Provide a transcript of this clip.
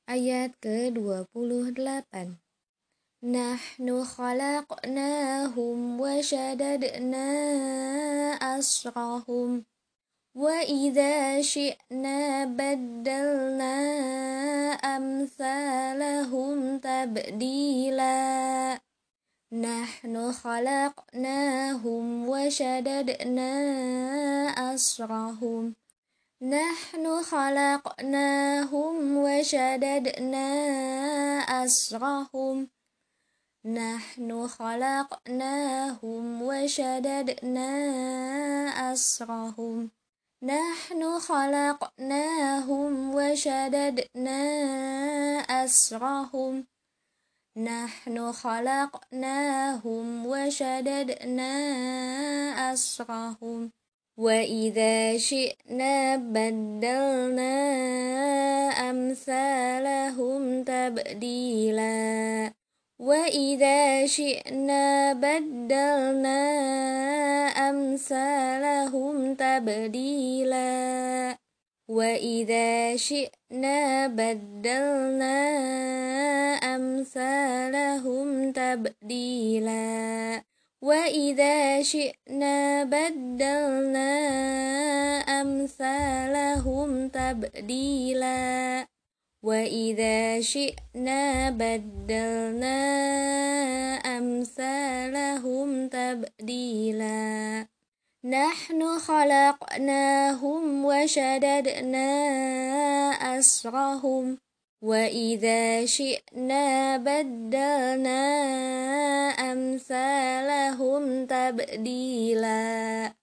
Ayat ke-28. Nahnu khalaqnahum wa syadadna asrahum wa idza syi'na baddalna amsalahum tabdila. Nahnu khalaqnahum wa syadadna asrahum Nahnu khalaqnahum wa syadadna asrahum Nahnu khalaqnahum wa syadadna asrahum Nahnu khalaqnahum wa syadadna asrahum Nahnu khalaqnahum wa syadadna asrahum wa idza syi'na baddalna amsalahum tabdila. Wa idza syi'na baddalna amsalahum tabdila. Wa idza syi'na baddalna amsalahum tabdila. Wa idza syi'na baddalna amsalahum tabdila. Wa idza syi'na baddalna amsalahum tabdila. Nahnu khalaqnahum wa syadadna asrahum wa idza syi'na baddalna amsalahum tabdila.